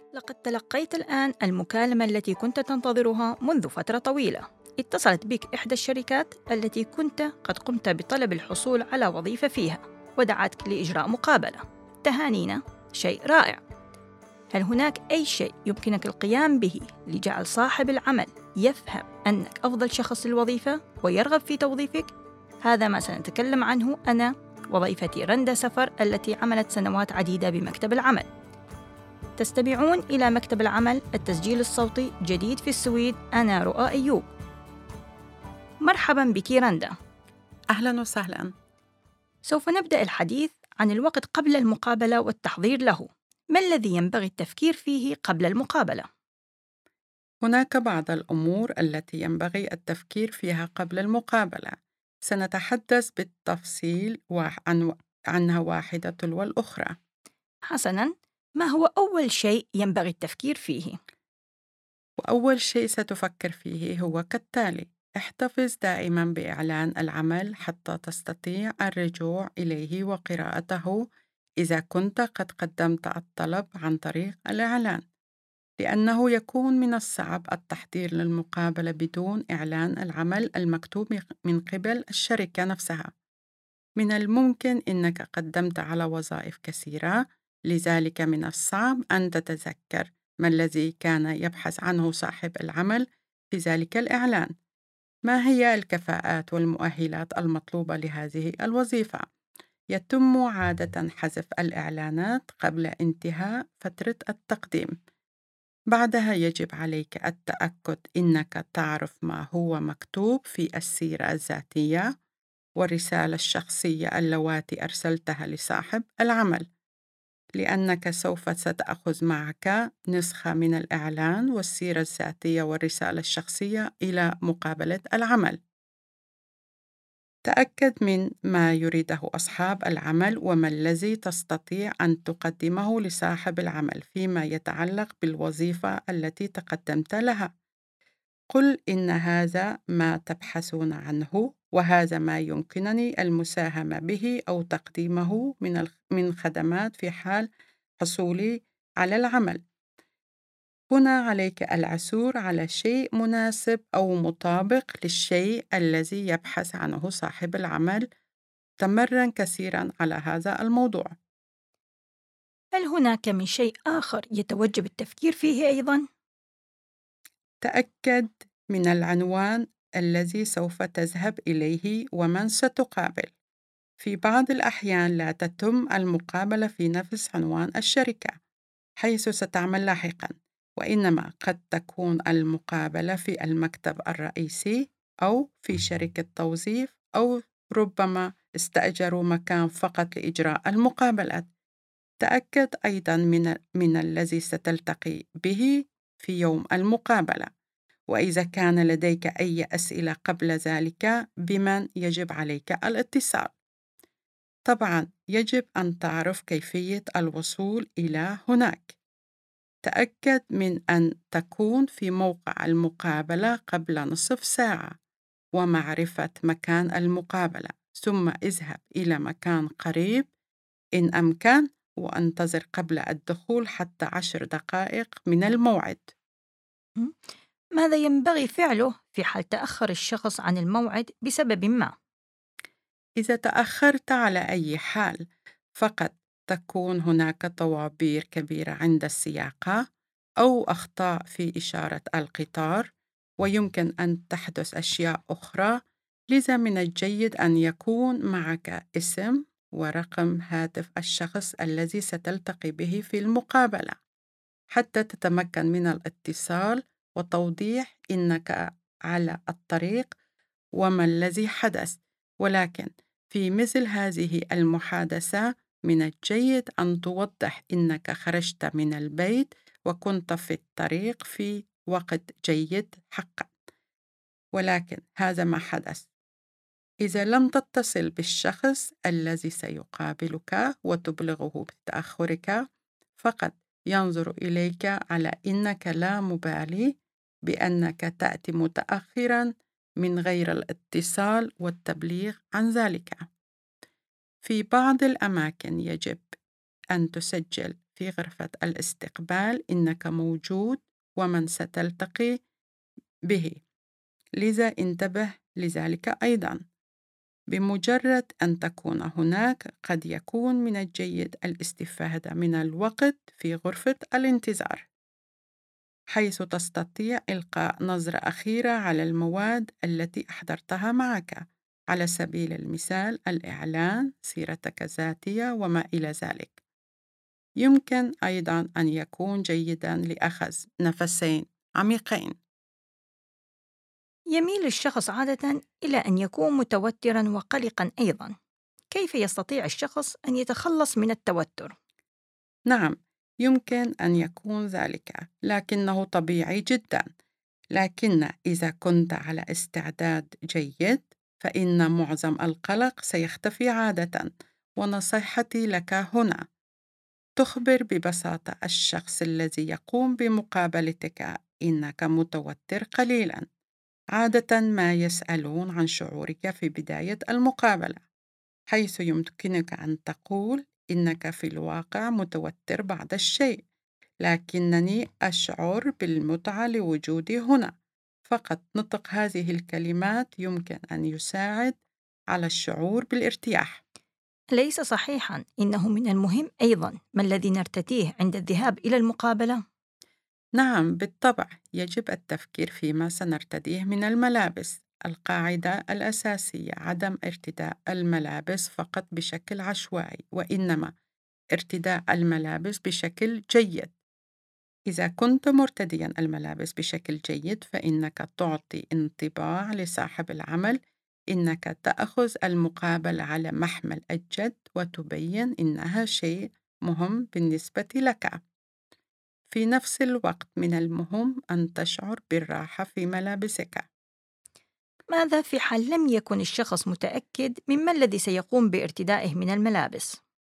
لقد تلقيت الآن المكالمة التي كنت تنتظرها منذ فترة طويلة. اتصلت بك إحدى الشركات التي كنت قد قمت بطلب الحصول على وظيفة فيها، ودعتك لإجراء مقابلة. تهانينا، شيء رائع. هل هناك أي شيء يمكنك القيام به لجعل صاحب العمل يفهم أنك أفضل شخص للوظيفة ويرغب في توظيفك؟ هذا ما سنتكلم عنه أنا، وظيفتي رندا سفر التي عملت سنوات عديدة بمكتب العمل. تستمعون إلى مكتب العمل، التسجيل الصوتي جديد في السويد. أنا رؤى أيوب. مرحبا بك رندا. أهلاً وسهلاً. سوف نبدأ الحديث عن الوقت قبل المقابلة والتحضير له. ما الذي ينبغي التفكير فيه قبل المقابلة؟ هناك بعض الأمور التي ينبغي التفكير فيها قبل المقابلة. سنتحدث بالتفصيل عنها واحدة تلو الأخرى. حسناً، ما هو أول شيء ينبغي التفكير فيه؟ وأول شيء ستفكر فيه هو كالتالي: احتفظ دائماً بإعلان العمل حتى تستطيع الرجوع إليه وقراءته إذا كنت قد قدمت الطلب عن طريق الإعلان، لأنه يكون من الصعب التحضير للمقابلة بدون إعلان العمل المكتوب من قبل الشركة نفسها. من الممكن أنك قدمت على وظائف كثيرة، لذلك من الصعب أن تتذكر ما الذي كان يبحث عنه صاحب العمل في ذلك الإعلان. ما هي الكفاءات والمؤهلات المطلوبة لهذه الوظيفة؟ يتم عادة حذف الإعلانات قبل انتهاء فترة التقديم. بعدها يجب عليك التأكد إنك تعرف ما هو مكتوب في السيرة الذاتية والرسالة الشخصية اللواتي أرسلتها لصاحب العمل، لأنك سوف ستأخذ معك نسخة من الإعلان والسيرة الذاتية والرسالة الشخصية إلى مقابلة العمل. تأكد من ما يريده أصحاب العمل وما الذي تستطيع أن تقدمه لصاحب العمل فيما يتعلق بالوظيفة التي تقدمت لها. قل إن هذا ما تبحثون عنه، وهذا ما يمكنني المساهمة به أو تقديمه من خدمات في حال حصولي على العمل. هنا عليك العثور على شيء مناسب أو مطابق للشيء الذي يبحث عنه صاحب العمل. تمرن كثيرا على هذا الموضوع. هل هناك من شيء آخر يتوجب التفكير فيه أيضاً؟ تأكد من العنوان الذي سوف تذهب إليه ومن ستقابل. في بعض الأحيان لا تتم المقابلة في نفس عنوان الشركة حيث ستعمل لاحقا، وإنما قد تكون المقابلة في المكتب الرئيسي أو في شركة توظيف، أو ربما استأجروا مكان فقط لإجراء المقابلات. تأكد أيضا من الذي ستلتقي به في يوم المقابلة، وإذا كان لديك أي أسئلة قبل ذلك بمن يجب عليك الاتصال. طبعا يجب أن تعرف كيفية الوصول إلى هناك. تأكد من أن تكون في موقع المقابلة قبل نصف ساعة ومعرفة مكان المقابلة، ثم اذهب إلى مكان قريب إن أمكن، وانتظر قبل الدخول حتى 10 دقائق من الموعد. م? ماذا ينبغي فعله في حال تأخر الشخص عن الموعد بسبب ما؟ إذا تأخرت على أي حال، فقد تكون هناك طوابير كبيرة عند السياقة أو أخطاء في إشارة القطار، ويمكن أن تحدث أشياء أخرى. لذا من الجيد أن يكون معك اسم ورقم هاتف الشخص الذي ستلتقي به في المقابلة، حتى تتمكن من الاتصال وتوضيح إنك على الطريق وما الذي حدث. ولكن في مثل هذه المحادثة من الجيد أن توضح إنك خرجت من البيت وكنت في الطريق في وقت جيد حقا، ولكن هذا ما حدث. إذا لم تتصل بالشخص الذي سيقابلك وتبلغه بتأخرك، فقد ينظر إليك على إنك لا مبالي بأنك تأتي متأخرا من غير الاتصال والتبليغ عن ذلك. في بعض الأماكن يجب أن تسجل في غرفة الاستقبال إنك موجود ومن ستلتقي به، لذا انتبه لذلك أيضاً. بمجرد أن تكون هناك، قد يكون من الجيد الاستفادة من الوقت في غرفة الانتظار، حيث تستطيع إلقاء نظرة أخيرة على المواد التي أحضرتها معك، على سبيل المثال الإعلان، سيرتك الذاتية وما إلى ذلك. يمكن أيضاً أن يكون جيداً لأخذ نفسين عميقين. يميل الشخص عادة إلى أن يكون متوتراً وقلقاً أيضاً. كيف يستطيع الشخص أن يتخلص من التوتر؟ نعم، يمكن أن يكون ذلك، لكنه طبيعي جداً. لكن إذا كنت على استعداد جيد، فإن معظم القلق سيختفي عادة. ونصيحتي لك هنا: تخبر ببساطة الشخص الذي يقوم بمقابلتك إنك متوتر قليلاً. عادة ما يسألون عن شعورك في بداية المقابلة، حيث يمكنك أن تقول إنك في الواقع متوتر بعض الشيء، لكنني أشعر بالمتعة لوجودي هنا. فقط نطق هذه الكلمات يمكن أن يساعد على الشعور بالارتياح. ليس صحيحاً إنه من المهم أيضاً ما الذي نرتديه عند الذهاب إلى المقابلة؟ نعم، بالطبع يجب التفكير فيما سنرتديه من الملابس. القاعدة الأساسية عدم ارتداء الملابس فقط بشكل عشوائي، وإنما ارتداء الملابس بشكل جيد. إذا كنت مرتديا الملابس بشكل جيد، فإنك تعطي انطباع لصاحب العمل إنك تأخذ المقابلة على محمل الجد، وتبين إنها شيء مهم بالنسبة لك. في نفس الوقت من المهم أن تشعر بالراحة في ملابسك. ماذا في حال لم يكن الشخص متأكد مما الذي سيقوم بارتدائه من الملابس؟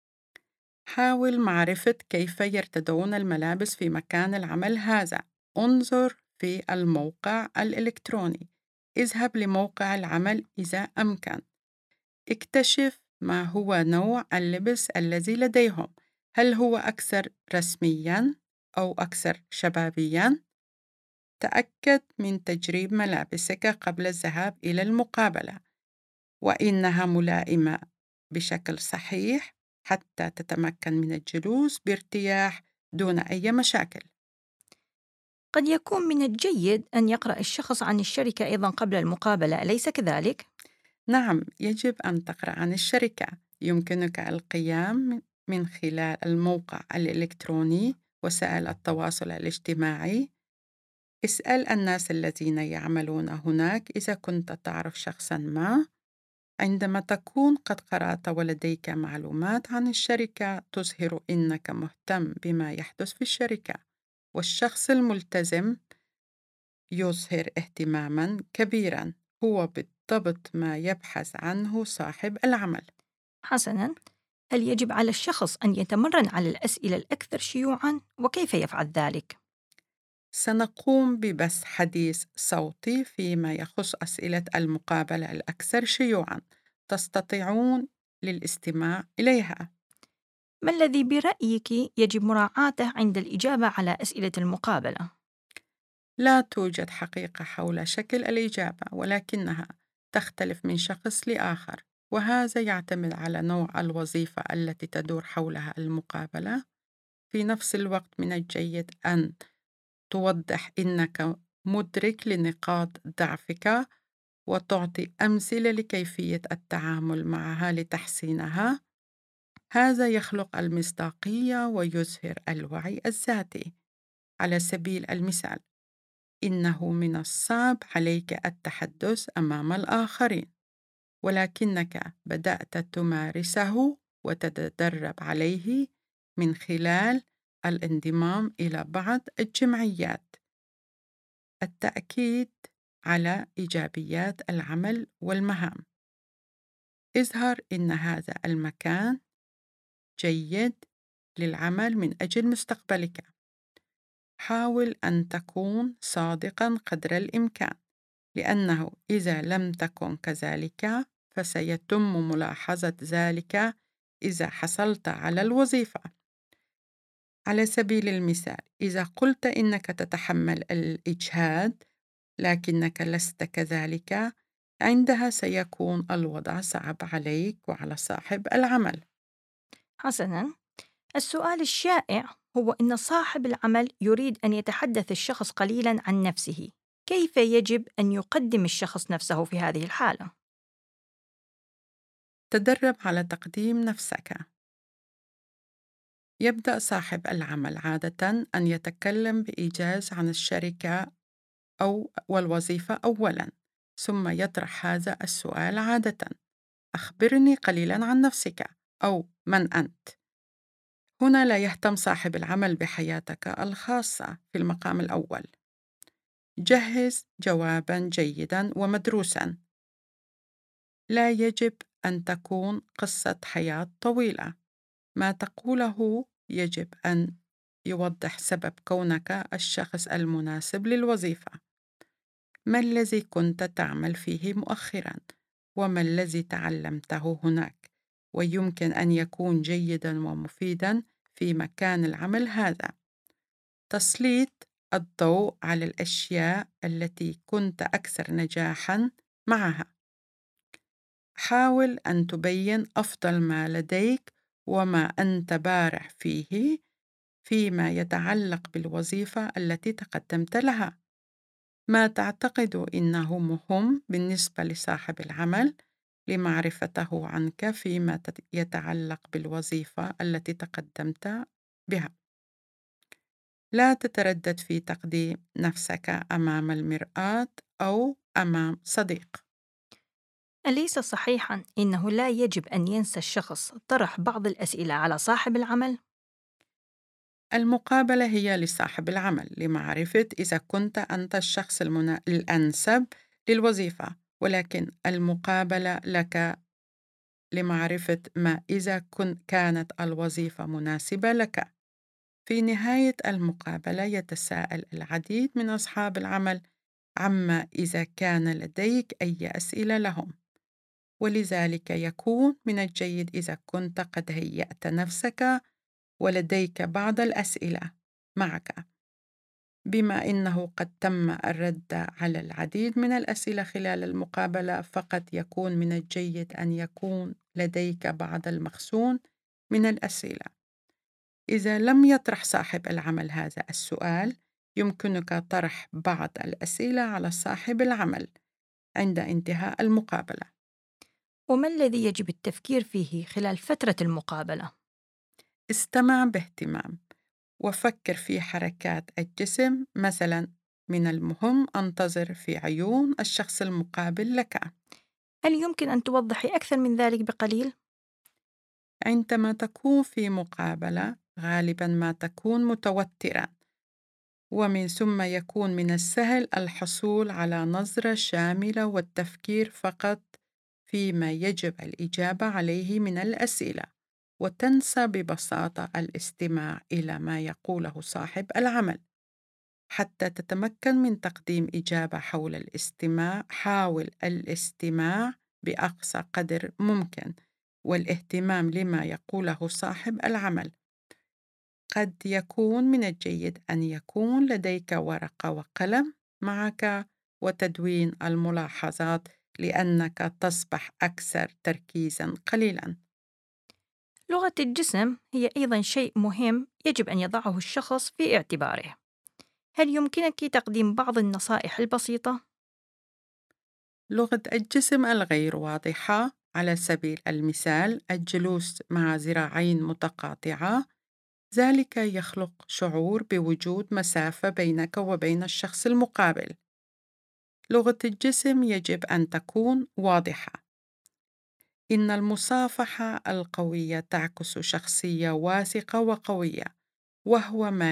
حاول معرفة كيف يرتدون الملابس في مكان العمل هذا. انظر في الموقع الإلكتروني. اذهب لموقع العمل إذا أمكن. اكتشف ما هو نوع اللبس الذي لديهم. هل هو أكثر رسمياً أو أكثر شبابياً؟ تأكد من تجريب ملابسك قبل الذهاب إلى المقابلة، وإنها ملائمة بشكل صحيح، حتى تتمكن من الجلوس بارتياح دون أي مشاكل. قد يكون من الجيد أن يقرأ الشخص عن الشركة أيضاً قبل المقابلة، أليس كذلك؟ نعم، يجب أن تقرأ عن الشركة. يمكنك القيام من خلال الموقع الإلكتروني، وسائل التواصل الاجتماعي. اسأل الناس الذين يعملون هناك إذا كنت تعرف شخصاً ما. عندما تكون قد قرأت ولديك معلومات عن الشركة، تظهر إنك مهتم بما يحدث في الشركة. والشخص الملتزم يظهر اهتماماً كبيراً. هو بالضبط ما يبحث عنه صاحب العمل. حسناً، هل يجب على الشخص أن يتمرن على الأسئلة الأكثر شيوعاً وكيف يفعل ذلك؟ سنقوم ببث حديث صوتي فيما يخص أسئلة المقابلة الأكثر شيوعاً. تستطيعون للاستماع إليها. ما الذي برأيك يجب مراعاته عند الإجابة على أسئلة المقابلة؟ لا توجد حقيقة حول شكل الإجابة، ولكنها تختلف من شخص لآخر، وهذا يعتمد على نوع الوظيفة التي تدور حولها المقابلة. في نفس الوقت من الجيد أن توضح إنك مدرك لنقاط ضعفك، وتعطي أمثلة لكيفية التعامل معها لتحسينها. هذا يخلق المصداقية ويظهر الوعي الذاتي. على سبيل المثال، إنه من الصعب عليك التحدث أمام الآخرين، ولكنك بدأت تمارسه وتتدرب عليه من خلال الانضمام إلى بعض الجمعيات. التأكيد على إيجابيات العمل والمهام. اظهر إن هذا المكان جيد للعمل من أجل مستقبلك. حاول أن تكون صادقاً قدر الإمكان، لأنه إذا لم تكن كذلك فسيتم ملاحظة ذلك إذا حصلت على الوظيفة. على سبيل المثال، إذا قلت إنك تتحمل الإجهاد لكنك لست كذلك، عندها سيكون الوضع صعب عليك وعلى صاحب العمل. حسناً، السؤال الشائع هو إن صاحب العمل يريد أن يتحدث الشخص قليلاً عن نفسه. كيف يجب أن يقدم الشخص نفسه في هذه الحالة؟ تدرب على تقديم نفسك. يبدأ صاحب العمل عادة أن يتكلم بإيجاز عن الشركة أو والوظيفة أولاً، ثم يطرح هذا السؤال عادة: أخبرني قليلاً عن نفسك، أو من أنت؟ هنا لا يهتم صاحب العمل بحياتك الخاصة في المقام الأول. جهز جواباً جيداً ومدروساً. لا يجب أن تكون قصة حياة طويلة. ما تقوله يجب أن يوضح سبب كونك الشخص المناسب للوظيفة. ما الذي كنت تعمل فيه مؤخراً؟ وما الذي تعلمته هناك؟ ويمكن أن يكون جيداً ومفيداً في مكان العمل هذا. تسليط الضوء على الأشياء التي كنت أكثر نجاحاً معها. حاول أن تبين أفضل ما لديك وما أنت بارع فيه فيما يتعلق بالوظيفة التي تقدمت لها. ما تعتقد إنه مهم بالنسبة لصاحب العمل لمعرفته عنك فيما يتعلق بالوظيفة التي تقدمت بها. لا تتردد في تقديم نفسك أمام المرآة أو أمام صديق. أليس صحيحاً إنه لا يجب أن ينسى الشخص طرح بعض الأسئلة على صاحب العمل؟ المقابلة هي لصاحب العمل لمعرفة إذا كنت أنت الشخص الأنسب للوظيفة، ولكن المقابلة لك لمعرفة ما إذا كانت الوظيفة مناسبة لك. في نهاية المقابلة يتساءل العديد من أصحاب العمل عما إذا كان لديك أي أسئلة لهم، ولذلك يكون من الجيد إذا كنت قد هيأت نفسك ولديك بعض الأسئلة معك. بما إنه قد تم الرد على العديد من الأسئلة خلال المقابلة، فقد يكون من الجيد أن يكون لديك بعض المخزون من الأسئلة. إذا لم يطرح صاحب العمل هذا السؤال، يمكنك طرح بعض الأسئلة على صاحب العمل عند انتهاء المقابلة. وما الذي يجب التفكير فيه خلال فترة المقابلة؟ استمع باهتمام وفكر في حركات الجسم. مثلا، من المهم أن تنظر في عيون الشخص المقابل لك. هل يمكن أن توضحي أكثر من ذلك بقليل؟ عندما تكون في مقابلة غالبا ما تكون متوترا، ومن ثم يكون من السهل الحصول على نظرة شاملة والتفكير فقط فيما يجب الإجابة عليه من الأسئلة، وتنسى ببساطة الاستماع إلى ما يقوله صاحب العمل. حتى تتمكن من تقديم إجابة حول الاستماع، حاول الاستماع بأقصى قدر ممكن والاهتمام لما يقوله صاحب العمل. قد يكون من الجيد أن يكون لديك ورقة وقلم معك وتدوين الملاحظات لأنك تصبح أكثر تركيزا قليلا. لغة الجسم هي أيضا شيء مهم يجب أن يضعه الشخص في اعتباره. هل يمكنك تقديم بعض النصائح البسيطة؟ لغة الجسم الغير واضحة، على سبيل المثال الجلوس مع ذراعين متقاطعة، ذلك يخلق شعور بوجود مسافة بينك وبين الشخص المقابل. لغة الجسم يجب أن تكون واضحة. إن المصافحة القوية تعكس شخصية واثقة وقوية، وهو ما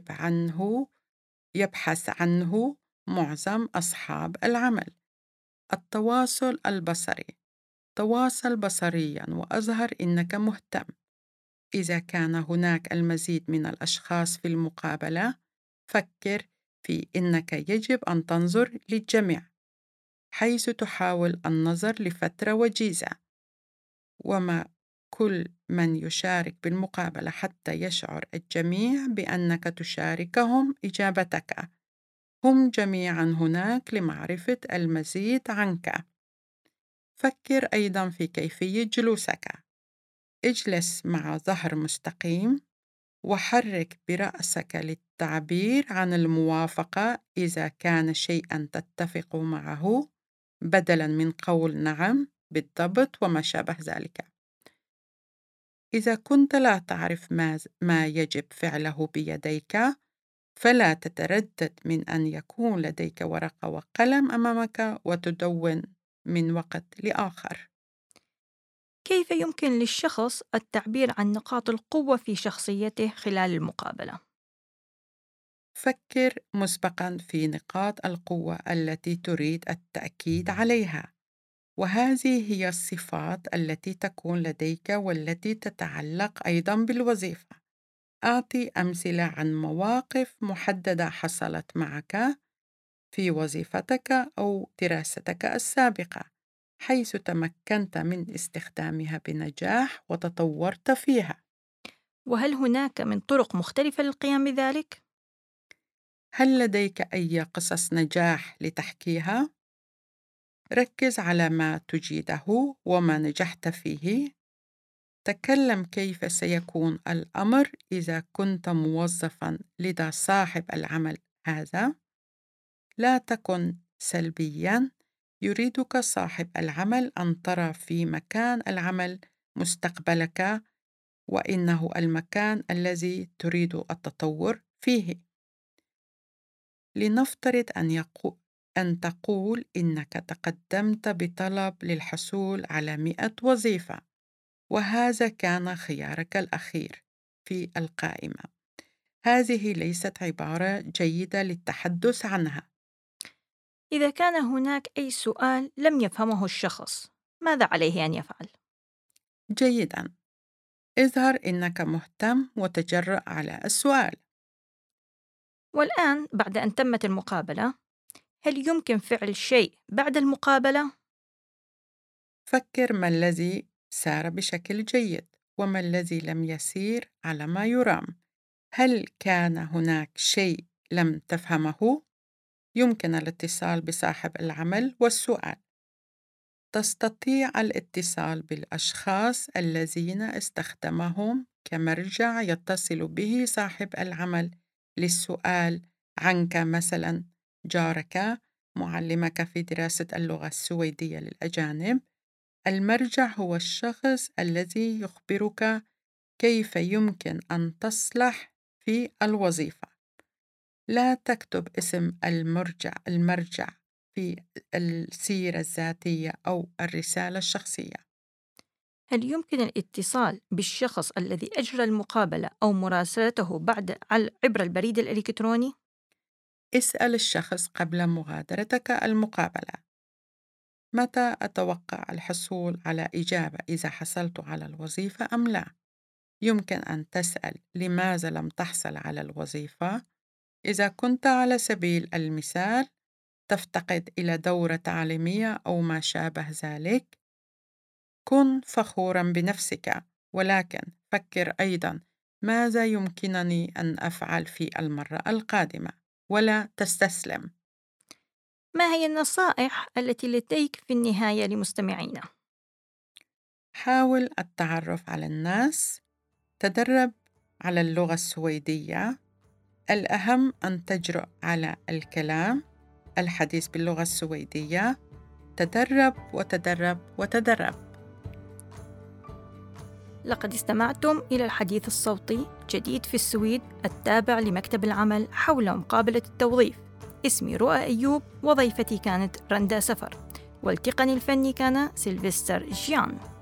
يبحث عنه معظم أصحاب العمل. التواصل البصري. تواصل بصريا وأظهر إنك مهتم. إذا كان هناك المزيد من الأشخاص في المقابلة، فكر في إنك يجب أن تنظر للجميع، حيث تحاول النظر لفترة وجيزة. وما كل من يشارك بالمقابلة حتى يشعر الجميع بأنك تشاركهم إجابتك. هم جميعا هناك لمعرفة المزيد عنك. فكر أيضا في كيفية جلوسك. اجلس مع ظهر مستقيم وحرك برأسك للتعبير عن الموافقة إذا كان شيئا تتفق معه بدلا من قول نعم بالضبط وما شابه ذلك. إذا كنت لا تعرف ما يجب فعله بيديك، فلا تتردد من أن يكون لديك ورقة وقلم أمامك وتدون من وقت لآخر. كيف يمكن للشخص التعبير عن نقاط القوة في شخصيته خلال المقابلة؟ فكر مسبقا في نقاط القوة التي تريد التأكيد عليها، وهذه هي الصفات التي تكون لديك والتي تتعلق أيضا بالوظيفة. أعطي أمثلة عن مواقف محددة حصلت معك في وظيفتك أو دراستك السابقة، حيث تمكنت من استخدامها بنجاح وتطورت فيها. وهل هناك من طرق مختلفة للقيام بذلك؟ هل لديك أي قصص نجاح لتحكيها؟ ركز على ما تجيده وما نجحت فيه. تكلم كيف سيكون الأمر إذا كنت موظفاً لدى صاحب العمل هذا. لا تكن سلبياً. يريدك صاحب العمل أن ترى في مكان العمل مستقبلك، وإنه المكان الذي تريد التطور فيه. لنفترض أن تقول إنك تقدمت بطلب للحصول على 100 وظيفة، وهذا كان خيارك الأخير في القائمة. هذه ليست عبارة جيدة للتحدث عنها. إذا كان هناك أي سؤال لم يفهمه الشخص، ماذا عليه أن يفعل؟ جيداً. اظهر إنك مهتم وتجرأ على السؤال. والآن بعد أن تمت المقابلة، هل يمكن فعل شيء بعد المقابلة؟ فكر ما الذي سار بشكل جيد وما الذي لم يسير على ما يرام. هل كان هناك شيء لم تفهمه؟ يمكن الاتصال بصاحب العمل والسؤال. تستطيع الاتصال بالأشخاص الذين استخدمهم كمرجع يتصل به صاحب العمل للسؤال عنك، مثلاً جارك، معلمك في دراسة اللغة السويدية للأجانب. المرجع هو الشخص الذي يخبرك كيف يمكن أن تصلح في الوظيفة. لا تكتب اسم المرجع في السيرة الذاتية أو الرسالة الشخصية. هل يمكن الاتصال بالشخص الذي أجرى المقابلة أو مراسلته عبر البريد الإلكتروني؟ اسأل الشخص قبل مغادرتك المقابلة: متى أتوقع الحصول على إجابة إذا حصلت على الوظيفة أم لا؟ يمكن أن تسأل: لماذا لم تحصل على الوظيفة؟ إذا كنت على سبيل المثال تفتقد إلى دورة تعليمية أو ما شابه ذلك، كن فخوراً بنفسك، ولكن فكر أيضاً: ماذا يمكنني أن أفعل في المرة القادمة؟ ولا تستسلم. ما هي النصائح التي لديك في النهاية لمستمعينا؟ حاول التعرف على الناس. تدرب على اللغة السويدية. الأهم أن تجرؤ على الكلام، الحديث باللغة السويدية. تدرب وتدرب وتدرب. لقد استمعتم إلى الحديث الصوتي جديد في السويد التابع لمكتب العمل حول مقابلة التوظيف. اسمي رؤى أيوب، وضيفتي كانت رندا سفر، والتقني الفني كان سيلفستر جيان.